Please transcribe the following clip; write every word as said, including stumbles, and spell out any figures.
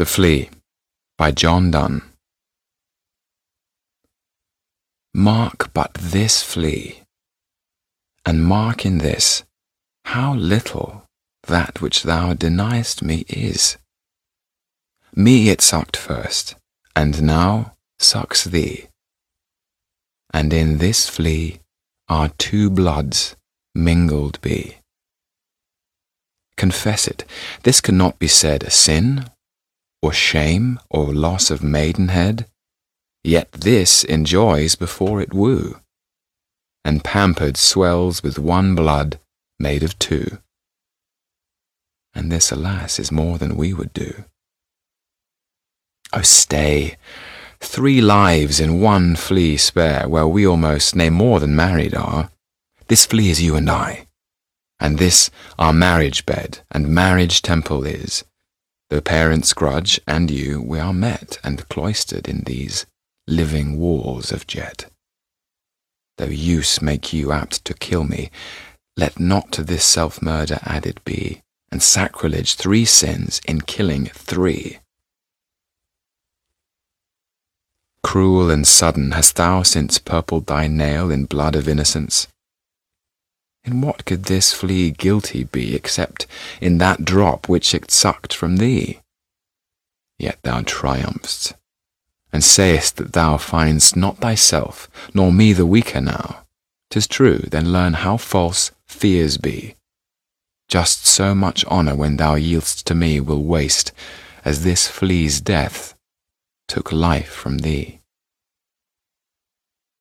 The Flea by John Donne. Mark but this flea, and mark in this how little that which thou deniest me is. Me it sucked first, and now sucks thee, and in this flea our two bloods mingled be. Confess it, this cannot be said a sin, or shame, or loss of maidenhead, yet this enjoys before it woo, and pampered swells with one blood made of two. And this, alas, is more than we would do. Oh, stay! Three lives in one flea spare, where we almost, nay more than married are. This flea is you and I, and this our marriage bed and marriage temple is. Though parents grudge, and you, we are met and cloistered in these living walls of jet. Though use make you apt to kill me, let not to this self-murder added be, and sacrilege three sins in killing three. Cruel and sudden hast thou since purpled thy nail in blood of innocence. In what could this flea guilty be, except in that drop which it sucked from thee? Yet thou triumph'st, and sayest that thou find'st not thyself, nor me the weaker now. 'Tis true, then learn how false fears be. Just so much honour when thou yield'st to me will waste, as this flea's death took life from thee.